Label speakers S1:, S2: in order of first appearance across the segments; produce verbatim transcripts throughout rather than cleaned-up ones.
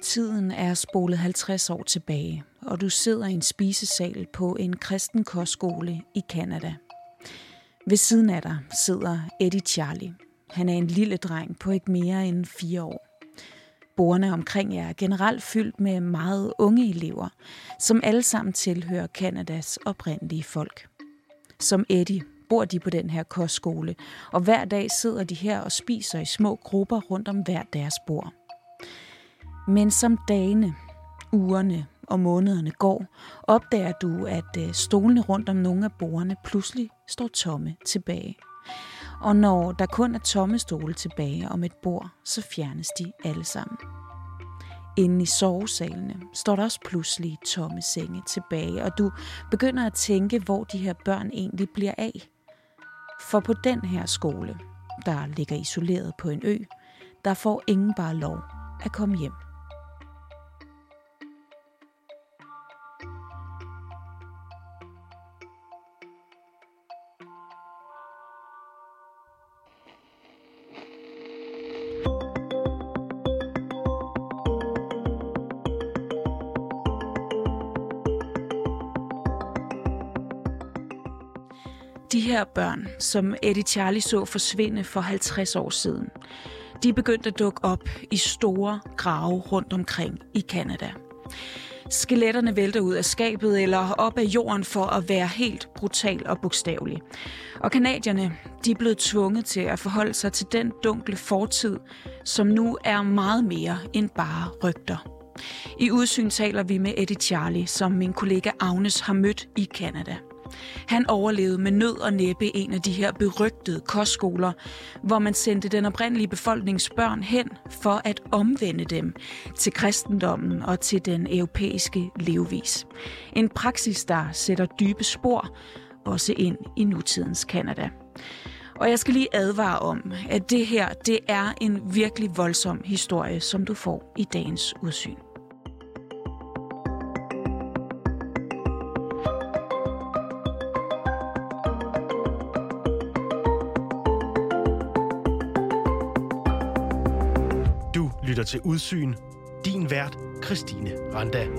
S1: Tiden er spolet halvtreds år tilbage, og du sidder i en spisesal på en kristen kostskole i Canada. Ved siden af dig sidder Eddie Charlie. Han er en lille dreng på ikke mere end fire år. Bordene omkring jer er generelt fyldt med meget unge elever, som alle sammen tilhører Canadas oprindelige folk. Som Eddie bor de på den her kostskole, og hver dag sidder de her og spiser i små grupper rundt om hver deres bord. Men som dagene, ugerne og månederne går, opdager du, at stolene rundt om nogle af bordene pludselig står tomme tilbage. Og når der kun er tomme stole tilbage om et bord, så fjernes de alle sammen. Inde i sovesalene står der også pludselig tomme senge tilbage, og du begynder at tænke, hvor de her børn egentlig bliver af. For på den her skole, der ligger isoleret på en ø, der får ingen bare lov at komme hjem. De her børn, som Eddie Charlie så forsvinde for halvtreds år siden, de begyndte at dukke op i store grave rundt omkring i Canada. Skeletterne vælter ud af skabet eller op af jorden for at være helt brutal og bogstavelig. Og canadierne, de er blevet tvunget til at forholde sig til den dunkle fortid, som nu er meget mere end bare rygter. I Udsyn taler vi med Eddie Charlie, som min kollega Agnes har mødt i Canada. Han overlevede med nød og næppe en af de her berygtede kostskoler, hvor man sendte den oprindelige befolknings børn hen for at omvende dem til kristendommen og til den europæiske levevis. En praksis, der sætter dybe spor, også ind i nutidens Canada. Og jeg skal lige advare om, at det her, det er en virkelig voldsom historie, som du får i dagens Udsyn.
S2: Lytter til Udsyn. Din vært, Christine Randa.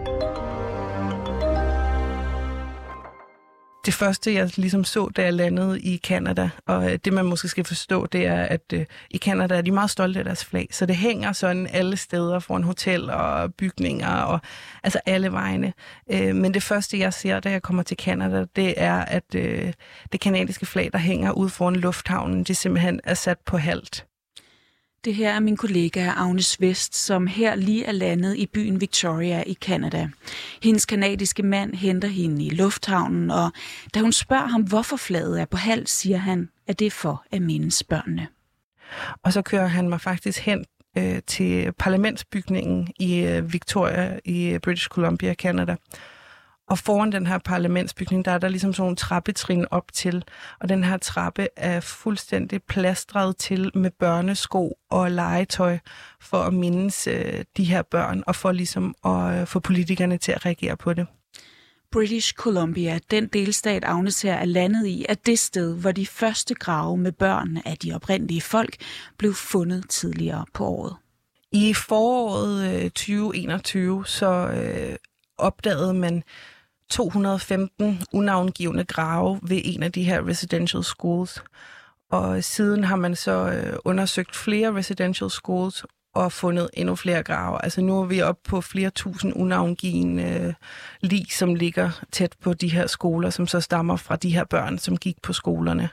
S3: Det første, jeg ligesom så, da jeg landede i Canada, og det man måske skal forstå, det er, at øh, i Canada er de meget stolte af deres flag, så det hænger sådan alle steder foran hotel og bygninger, og altså alle vegne. Øh, men det første, jeg ser, da jeg kommer til Canada, det er, at øh, det kanadiske flag, der hænger ude foran lufthavnen, det simpelthen er sat på halvt.
S1: Det her er min kollega Agnes Vest, som her lige er landet i byen Victoria i Canada. Hendes kanadiske mand henter hende i lufthavnen, og da hun spørger ham, hvorfor flaget er på halv, siger han, at det er for at mindes børnene.
S3: Og så kører han mig faktisk hen øh, til parlamentsbygningen i øh, Victoria i British Columbia, Canada. Og foran den her parlamentsbygning, der er der ligesom sådan nogle trappetrin op til. Og den her trappe er fuldstændig plastret til med børnesko og legetøj for at mindes øh, de her børn og for ligesom at øh, få politikerne til at reagere på det.
S1: British Columbia, den delstat Agnes her er landet i, er det sted, hvor de første grave med børn af de oprindelige folk blev fundet tidligere på året.
S3: I foråret øh, tyve enogtyve så øh, opdagede man to hundrede og femten unavngivne grave ved en af de her residential schools. Og siden har man så øh, undersøgt flere residential schools og fundet endnu flere grave. Altså nu er vi oppe på flere tusind unavngivne øh, lig, som ligger tæt på de her skoler, som så stammer fra de her børn, som gik på skolerne.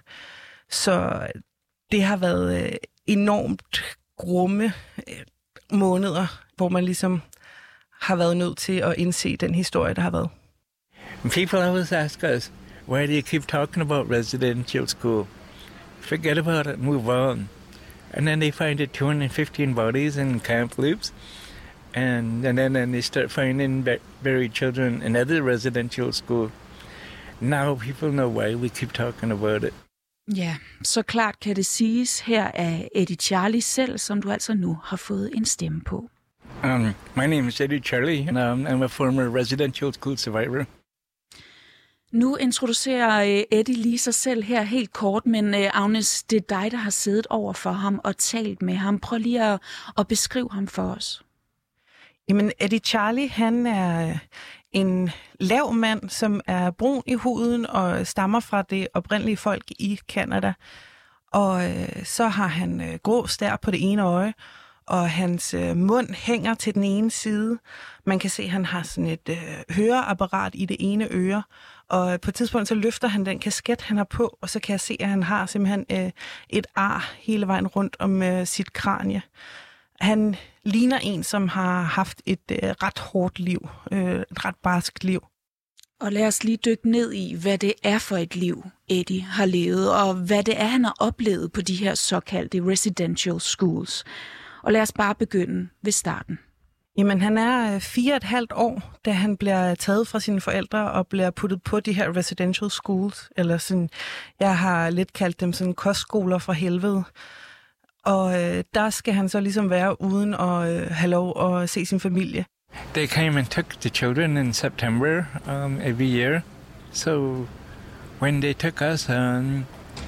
S3: Så det har været øh, enormt grumme øh, måneder, hvor man ligesom har været nødt til at indse den historie, der har været.
S4: People always ask us, why do you keep talking about residential school? Forget about it, move on. And then they find it two hundred fifteen bodies in Camp Loops. And, and then and they start finding buried children in other residential school. Now people know why we keep talking about it.
S1: Ja, så klart kan det siges her af Eddie Charlie selv, som du altså nu har fået en stemme på.
S4: Um, my name is Eddie Charlie, and um, I'm a former residential school survivor.
S1: Nu introducerer Eddie lige sig selv her helt kort, men Agnes, det er dig, der har siddet over for ham og talt med ham. Prøv lige at, at beskrive ham for os.
S3: Jamen, Eddie Charlie, han er en lav mand, som er brun i huden og stammer fra det oprindelige folk i Canada. Og øh, så har han øh, grå stær på det ene øje, og hans øh, mund hænger til den ene side. Man kan se, at han har sådan et øh, høreapparat i det ene øre, og på et tidspunkt så løfter han den kasket, han har på, og så kan jeg se, at han har simpelthen øh, et ar hele vejen rundt om øh, sit kranie. Han ligner en, som har haft et øh, ret hårdt liv, øh, et ret barskt liv.
S1: Og lad os lige dykke ned i, hvad det er for et liv, Eddie har levet, og hvad det er, han har oplevet på de her såkaldte residential schools. Og lad os bare begynde ved starten.
S3: Jamen, han er fire og et halvt år, da han bliver taget fra sine forældre og bliver puttet på de her residential schools, eller sådan, jeg har lidt kaldt dem sådan kostskoler fra helvede. Og øh, der skal han så ligesom være uden at øh, have lov at se sin familie.
S4: They came and took the children in September um, every year. So when they took us, um,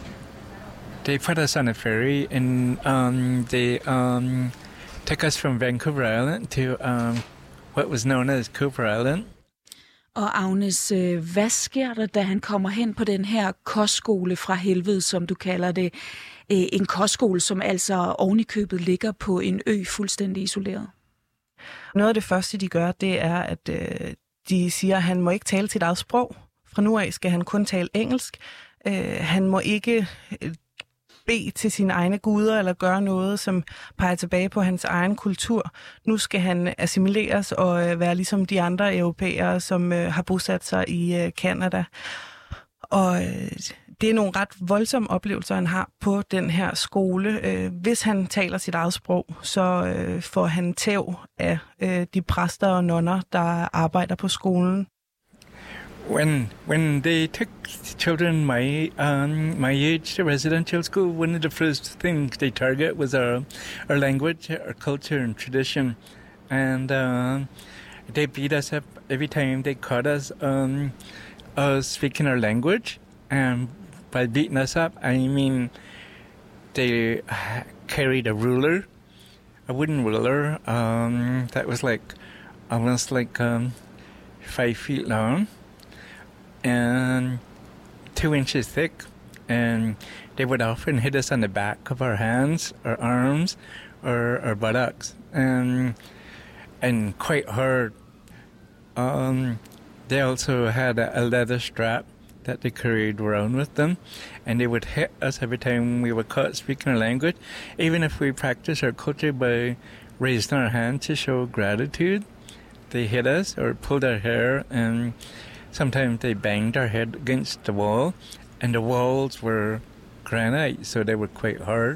S4: they put us on a ferry and um, they um, took us from Vancouver Island to um, what was known as Cooper Island.
S1: Og Agnes, hvad sker der, da han kommer hen på den her kostskole fra helvede, som du kalder det? En kostskole, som altså ovenikøbet ligger på en ø fuldstændig isoleret.
S3: Noget af det første, de gør, det er, at øh, de siger, at han må ikke tale sit eget sprog. Fra nu af skal han kun tale engelsk. Øh, han må ikke øh, bede til sine egne guder eller gøre noget, som peger tilbage på hans egen kultur. Nu skal han assimileres og øh, være ligesom de andre europæere, som øh, har bosat sig i øh, Canada. Og øh, det er nogle ret voldsomme oplevelser, han har på den her skole. Øh, hvis han taler sit eget sprog, så øh, får han tæv af øh, de præster og nonner, der arbejder på skolen.
S4: When when they took children my um, my age to residential school, one of the first things they target was our our language, our culture and tradition, and uh, they beat us up every time they caught us um, us speaking our language. And by beating us up, I mean they carried a ruler, a wooden ruler um, that was like almost like um, five feet long and two inches thick, and they would often hit us on the back of our hands, our arms, or our buttocks, and and quite hard. Um, they also had a, a leather strap that they carried around with them, and they would hit us every time we were caught speaking our language, even if we practiced our culture by raising our hand to show gratitude. They hit us or pulled our hair, and sometimes they banged our head against the wall, and the walls were granite, so they were quite hard.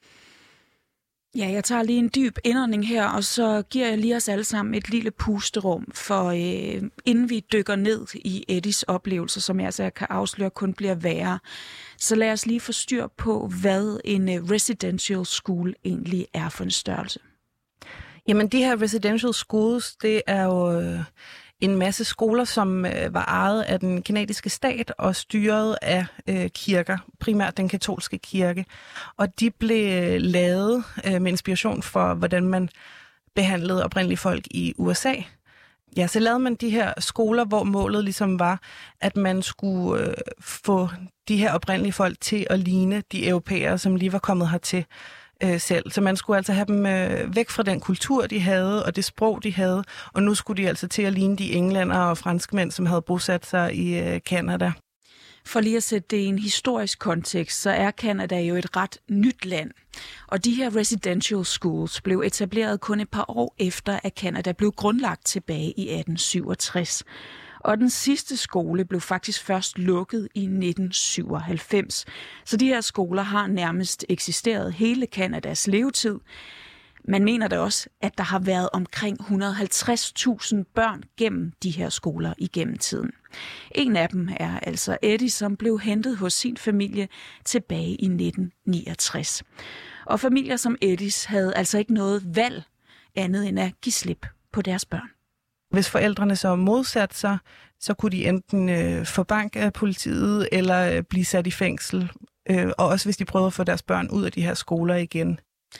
S1: Ja, jeg tager lige en dyb indånding her, og så giver jeg lige os alle sammen et lille pusterum, for øh, inden vi dykker ned i Eddies oplevelser, som jeg altså kan afsløre kun bliver værre, så lad os lige få styr på, hvad en øh, residential school egentlig er for en størrelse.
S3: Jamen, de her residential schools, det er jo øh, en masse skoler, som øh, var ejet af den kanadiske stat og styret af øh, kirker, primært den katolske kirke. Og de blev øh, lavet øh, med inspiration for, hvordan man behandlede oprindelige folk i U S A. Ja, så lavede man de her skoler, hvor målet ligesom var, at man skulle øh, få de her oprindelige folk til at ligne de europæere, som lige var kommet hertil øh, selv. Så man skulle altså have dem øh, væk fra den kultur, de havde, og det sprog, de havde, og nu skulle de altså til at ligne de englænder og franskmænd, som havde bosat sig i øh, Canada.
S1: For lige at sætte det i en historisk kontekst, så er Canada jo et ret nyt land. Og de her residential schools blev etableret kun et par år efter, at Canada blev grundlagt tilbage i atten syvogtres. Og den sidste skole blev faktisk først lukket i nitten syvoghalvfems. Så de her skoler har nærmest eksisteret hele Canadas levetid. Man mener da også, at der har været omkring et hundrede og halvtreds tusind børn gennem de her skoler igennem tiden. En af dem er altså Eddie, som blev hentet hos sin familie tilbage i nitten niogtres. Og familier som Eddies havde altså ikke noget valg andet end at give slip på deres børn.
S3: Hvis forældrene så modsatte sig, så kunne de enten øh, få bank af politiet eller øh, blive sat i fængsel. Øh, og også hvis de prøvede at få deres børn ud af de her skoler igen.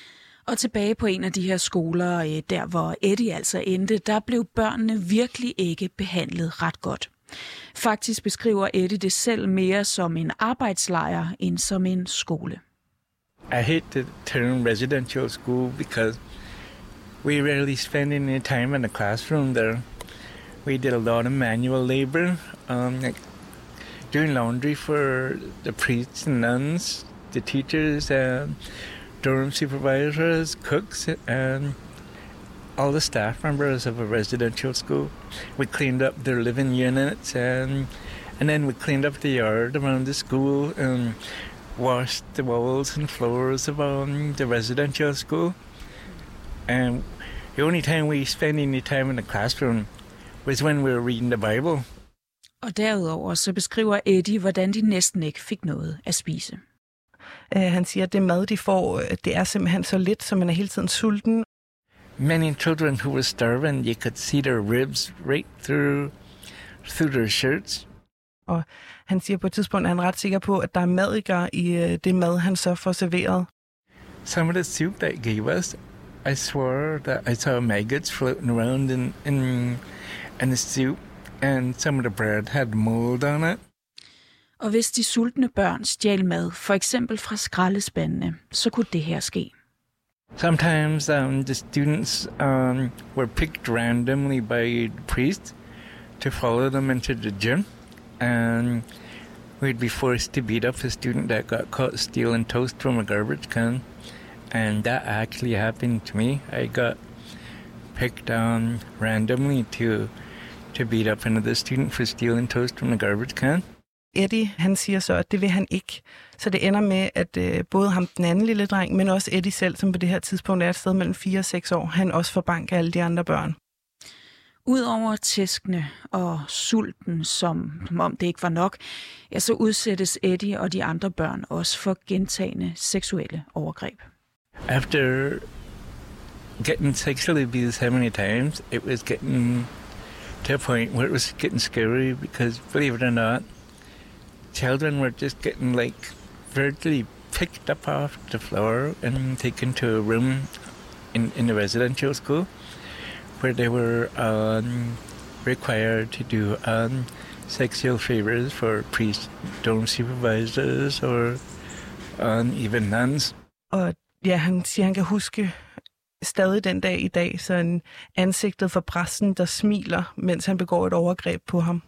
S1: Og tilbage på en af de her skoler, der hvor Eddie altså endte, der blev børnene virkelig ikke behandlet ret godt. Faktisk beskriver Eddie det selv mere som en arbejdslejr end som en skole.
S4: I hate the term residential school because we rarely spend any time in the classroom there. We did a lot of manual labor, um, like doing laundry for the priests and nuns, the teachers, and dorm supervisors, cooks, and all the staff members of a residential school. We cleaned up their living units, and and then we cleaned up the yard around the school and washed the walls and floors of um, the residential school. And the only time we spent any time in the classroom was when we were reading the Bible.
S1: Og derudover så beskriver Eddie, hvordan de næsten ikke fik noget at spise.
S3: Uh, han siger, at det mad, de får, det er simpelthen så lidt, så man er hele tiden sulten.
S4: Many children who were starving, you could see their ribs right through, through their shirts.
S3: Og han siger på et tidspunkt, at han er ret sikker på, at der er madikker i uh, det mad, han så får serveret.
S4: Some of the soup that gave us, I swore that I saw maggots floating around in, in, in the soup, and some of the bread had mold on it.
S1: Og hvis de sultne børn stjal mad, for eksempel fra skraldespandene, så kunne det her ske.
S4: Sometimes um, the students um, were picked randomly by the priest to follow them into the gym, and we'd be forced to beat up a student that got caught stealing toast from a garbage can. And that actually happened to me. I got picked um, randomly to to beat up another student for stealing toast from the garbage can.
S3: Eddie, han siger så, at det vil han ikke. Så det ender med, at øh, både ham, den anden lille dreng, men også Eddie selv, som på det her tidspunkt er et sted mellem fire og seks år, han også får bank af alle de andre børn.
S1: Udover tæskene og sulten, som om det ikke var nok, ja, så udsættes Eddie og de andre børn også for gentagne seksuelle overgreb.
S4: After getting sexually abused so many times, it was getting to a point where it was getting scary because, believe it or not, children were just getting like virtually picked up off the floor and taken to a room in, in the residential school where they were um, required to do um, sexual favors for priests, dorm supervisors, or um, even nuns.
S3: Og ja, han siger, han kan huske stadig den dag i dag, sådan ansigtet for præsten, der smiler, mens han begår et overgreb på ham.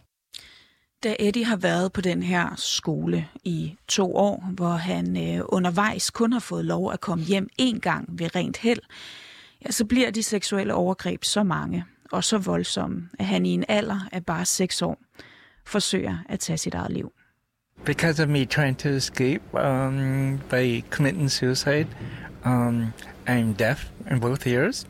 S1: Da Eddie har været på den her skole i to år, hvor han øh, undervejs kun har fået lov at komme hjem én gang ved rent held, ja, så bliver de seksuelle overgreb så mange og så voldsomme, at han i en alder af bare seks år forsøger at tage sit eget liv.
S4: Because of me trying to escape um, by committing suicide, um, I'm deaf in both ears.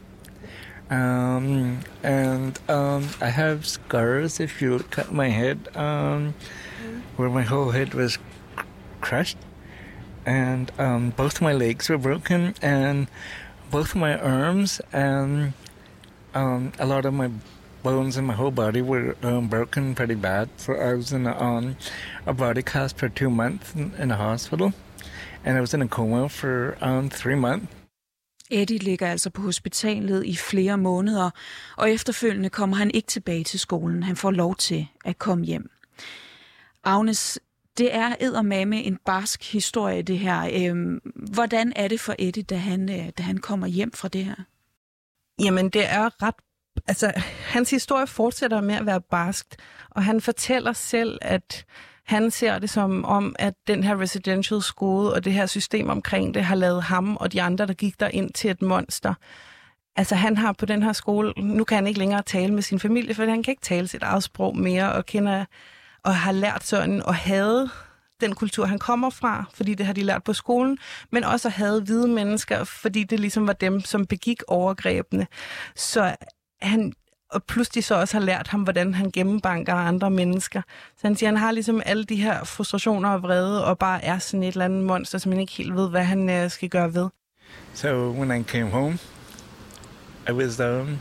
S4: Um, and um, I have scars, if you look at my head, um, where my whole head was c- crushed. And um, both my legs were broken, and both my arms, and um, a lot of my bones in my whole body were um, broken pretty bad. So I was in a, um, a body cast for two months in, in a hospital, and I was in a coma for um, three months.
S1: Eddie ligger altså på hospitalet i flere måneder, og efterfølgende kommer han ikke tilbage til skolen. Han får lov til at komme hjem. Agnes, det er eddermame en barsk historie, det her. Øhm, hvordan er det for Eddie, da han, da han kommer hjem fra det her?
S3: Jamen, det er ret... Altså, hans historie fortsætter med at være barskt, og han fortæller selv, at han ser det som om, at den her residential school og det her system omkring det har lavet ham og de andre, der gik der ind til et monster. Altså han har på den her skole, nu kan han ikke længere tale med sin familie, for han kan ikke tale sit eget sprog mere, og kender og har lært sådan at hade den kultur, han kommer fra, fordi det har de lært på skolen, men også at hade hvide mennesker, fordi det ligesom var dem, som begik overgrebene. Så han... og pludselig så også har lært ham, hvordan han gennembanker andre mennesker. Så han siger, han har ligesom alle de her frustrationer og vrede, og bare er sådan et eller andet monster, som han ikke helt ved, hvad han uh, skal gøre ved.
S4: So when I came home, I was um,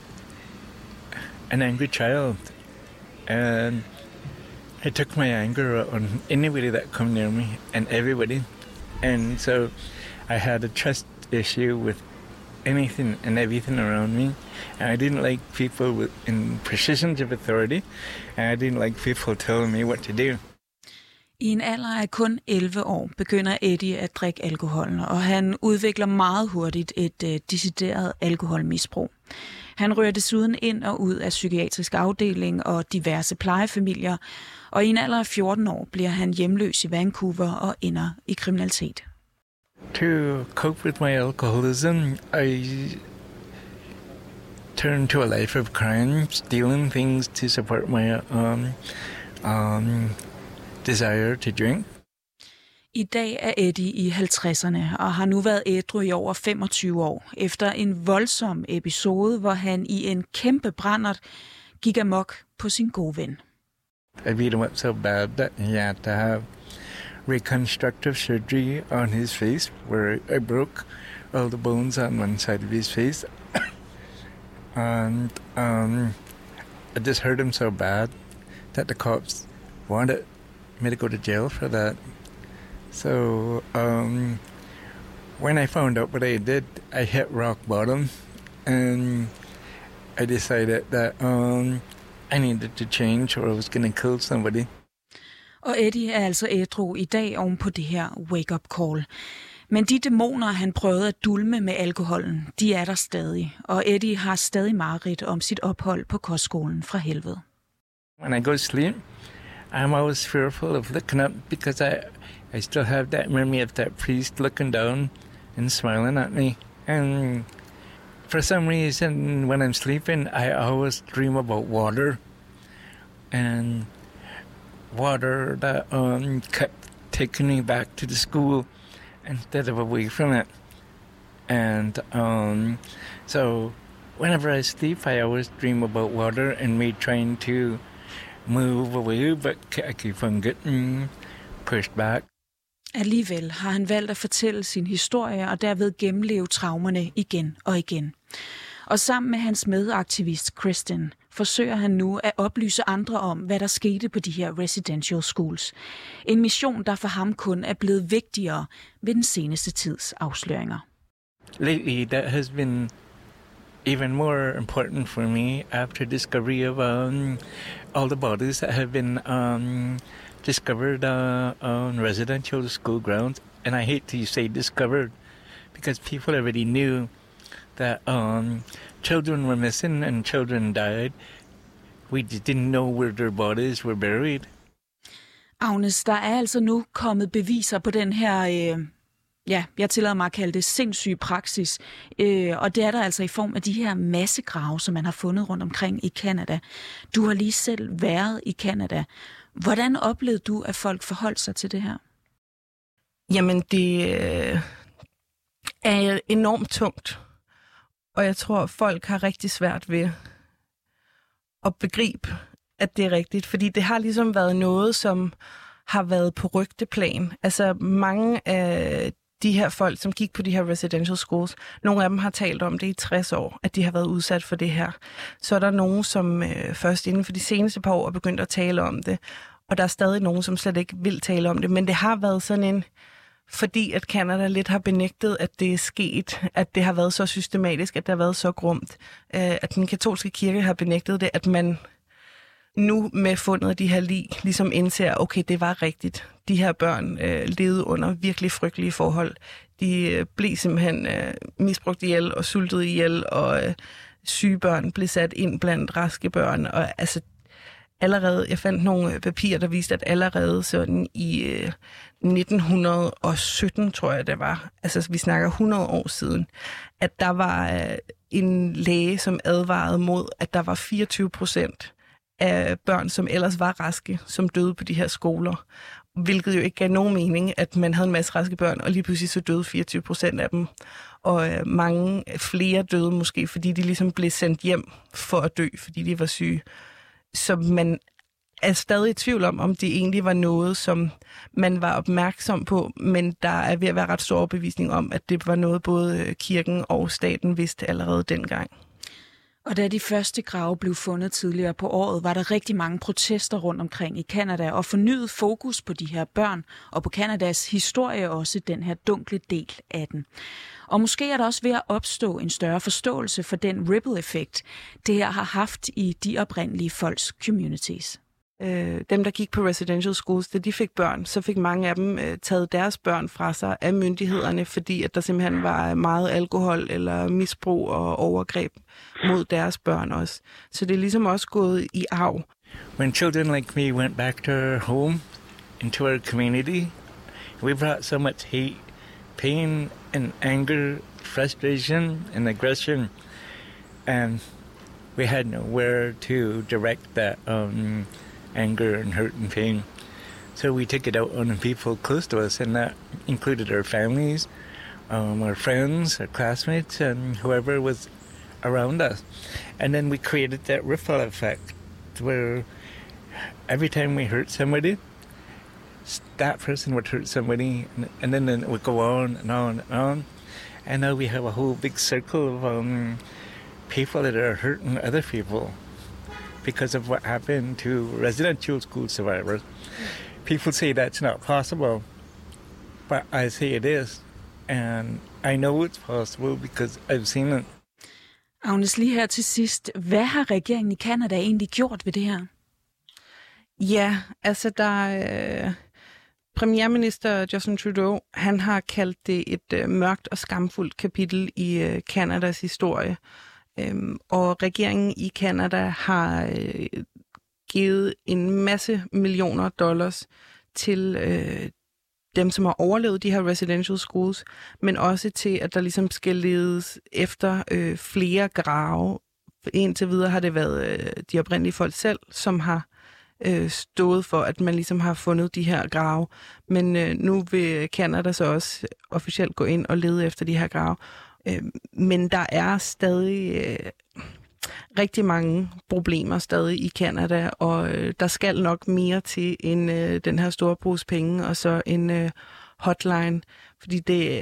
S4: an angry child, and I took my anger on anybody that come near me, and everybody. And so I had a trust issue with anything and everything around me. And I didn't like people with, in positions of authority, and I didn't like people telling me what to do.
S1: I en alder af kun elleve år begynder Eddie at drikke alkohol, og han udvikler meget hurtigt et uh, decideret alkoholmisbrug. Han rører desuden ind og ud af psykiatrisk afdeling og diverse plejefamilier, og i en alder af fjorten år bliver han hjemløs i Vancouver og ender i kriminalitet.
S4: To cope with my alcoholism, I turned to a life of crime, stealing things to support my um, um, desire to drink.
S1: I dag er Eddie i halvtredserne og har nu været ædru i over femogtyve år, efter en voldsom episode, hvor han i en kæmpe brændert gik amok på sin gode ven.
S4: I beat him up so bad that he had to have reconstructive surgery on his face, where I broke all the bones on one side of his face. and um, I just hurt him so bad that the cops wanted me to go to jail for that. So um, when I found out what I did, I hit rock bottom, and I decided that um, I needed to change or I was going to kill somebody.
S1: Og Eddie er altså ædru i dag oven på det her wake-up call. Men de dæmoner, han prøvede at dulme med alkoholen, de er der stadig. Og Eddie har stadig mareridt om sit ophold på kostskolen fra helvede.
S4: When I go to sleep, I'm always fearful of looking up because I, I still have that memory of that priest looking down and smiling at me. And for some reason, when I'm sleeping, I always dream about water. And water that um, kept taking me back to the school instead of away from it. And um, so whenever I sleep, I always dream about water and me trying to move away, but I keep on getting pushed back.
S1: Alligevel har han valgt at fortælle sin historie og derved gennemleve traumerne igen og igen. Og sammen med hans medaktivist Kristen forsøger han nu at oplyse andre om, hvad der skete på de her residential schools. En mission, der for ham kun er blevet vigtigere ved den seneste tids afsløringer.
S4: Lately, that has been even more important for me after discovery of um, all the bodies that have been um, discovered uh, on residential school grounds. And I hate to say discovered because people already knew that um, children were missing and children died. We didn't know where their bodies were buried.
S1: Agnes, der er altså nu kommet beviser på den her, øh, ja, jeg tillader mig at kalde det sindssyge praksis. Øh, og det er der altså i form af de her massegrave, som man har fundet rundt omkring i Canada. Du har lige selv været i Canada. Hvordan oplevede du, at folk forholdt sig til det her?
S3: Jamen, det øh, er enormt tungt. Og jeg tror, folk har rigtig svært ved at begribe, at det er rigtigt. Fordi det har ligesom været noget, som har været på rygteplan. Altså mange af de her folk, som gik på de her residential schools, nogle af dem har talt om det i tres år, at de har været udsat for det her. Så er der nogen, som øh, først inden for de seneste par år er begyndt at tale om det. Og der er stadig nogen, som slet ikke vil tale om det. Men det har været sådan en... Fordi at Canada lidt har benægtet, at det er sket, at det har været så systematisk, at det har været så grumt, at den katolske kirke har benægtet det, at man nu med fundet af de her lig ligesom indser, okay, det var rigtigt. De her børn øh, levede under virkelig frygtelige forhold. De øh, blev simpelthen øh, misbrugt ihjel og sultet ihjel, og øh, syge børn blev sat ind blandt raske børn. Og altså allerede, jeg fandt nogle papirer, der viste, at allerede sådan i øh, nitten sytten, tror jeg det var, altså vi snakker hundrede år siden, at der var øh, en læge, som advarede mod, at der var fireogtyve procent af børn, som ellers var raske, som døde på de her skoler. Hvilket jo ikke gav nogen mening, at man havde en masse raske børn, og lige pludselig så døde fireogtyve procent af dem. Og øh, mange flere døde måske, fordi de ligesom blev sendt hjem for at dø, fordi de var syge. Så man er stadig i tvivl om, om det egentlig var noget, som man var opmærksom på, men der er ved at være ret stor overbevisning om, at det var noget, både kirken og staten vidste allerede dengang.
S1: Og da de første grave blev fundet tidligere på året, var der rigtig mange protester rundt omkring i Canada og fornyet fokus på de her børn og på Canadas historie, også den her dunkle del af den. Og måske er der også ved at opstå en større forståelse for den ripple-effekt, det her har haft i de oprindelige folks communities.
S3: Øh, dem, der gik på residential schools, da de fik børn, så fik mange af dem øh, taget deres børn fra sig af myndighederne, fordi at der simpelthen var meget alkohol eller misbrug og overgreb mod deres børn også. Så det er ligesom også gået i arv.
S4: When children like me went back to our home, into our community, we brought so much hate, pain and anger, frustration and aggression, and we had nowhere to direct that um, anger and hurt and pain. So we took it out on the people close to us, and that included our families, um, our friends, our classmates, and whoever was around us. And then we created that ripple effect where every time we hurt somebody, that person would hurt somebody, and then it would go on and on and on. And now we have a whole big circle of um, people that are hurting other people because of what happened to residential school survivors. People say that's not possible, but I say it is. And I know it's possible because I've seen it.
S1: Agnes, lige her til sidst. Hvad har regeringen i Canada egentlig gjort ved det her?
S3: Ja, altså der... Øh, premierminister Justin Trudeau, han har kaldt det et øh, mørkt og skamfuldt kapitel i øh, Canadas historie. Øhm, og regeringen i Canada har øh, givet en masse millioner dollars til øh, dem, som har overlevet de her residential schools, men også til, at der ligesom skal ledes efter øh, flere grave. Indtil videre har det været øh, de oprindelige folk selv, som har øh, stået for, at man ligesom har fundet de her grave. Men øh, nu vil Canada så også officielt gå ind og lede efter de her grave. Øh, men der er stadig øh, rigtig mange problemer stadig i Canada, og øh, der skal nok mere til end øh, den her store pose penge, og så en øh, hotline, fordi det,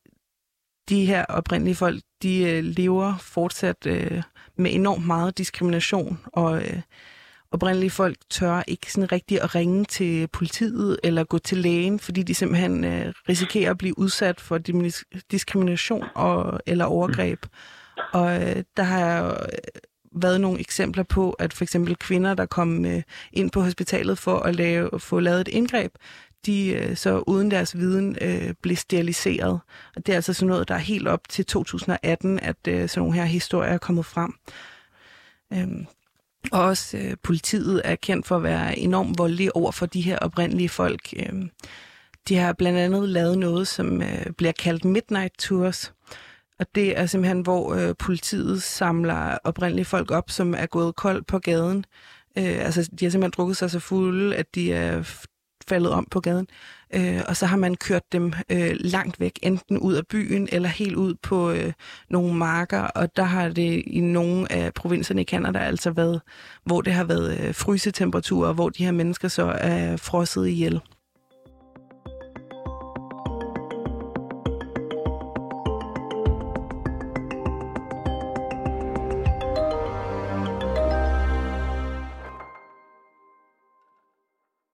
S3: de her oprindelige folk, de øh, lever fortsat øh, med enormt meget diskrimination, og øh, oprindelige folk tør ikke sådan rigtig at ringe til politiet eller gå til lægen, fordi de simpelthen øh, risikerer at blive udsat for diskrimination og, eller overgreb. Og øh, der har været nogle eksempler på, at for eksempel kvinder, der kom øh, ind på hospitalet for at lave, få lavet et indgreb, de øh, så uden deres viden øh, blev steriliseret. Og det er altså sådan noget, der er helt op til to tusind og atten, at øh, sådan nogle her historier er kommet frem. Øhm, og også øh, politiet er kendt for at være enormt voldelige over for de her oprindelige folk. Øhm, de har blandt andet lavet noget, som øh, bliver kaldt Midnight Tours. Og det er simpelthen, hvor øh, politiet samler oprindelige folk op, som er gået kold på gaden. Øh, altså, de har simpelthen drukket sig så fulde, at de er faldet om på gaden. Øh, og så har man kørt dem øh, langt væk, enten ud af byen eller helt ud på øh, nogle marker. Og der har det i nogle af provinserne i Canada altså været, hvor det har været øh, frysetemperaturer, hvor de her mennesker så er frosset ihjel.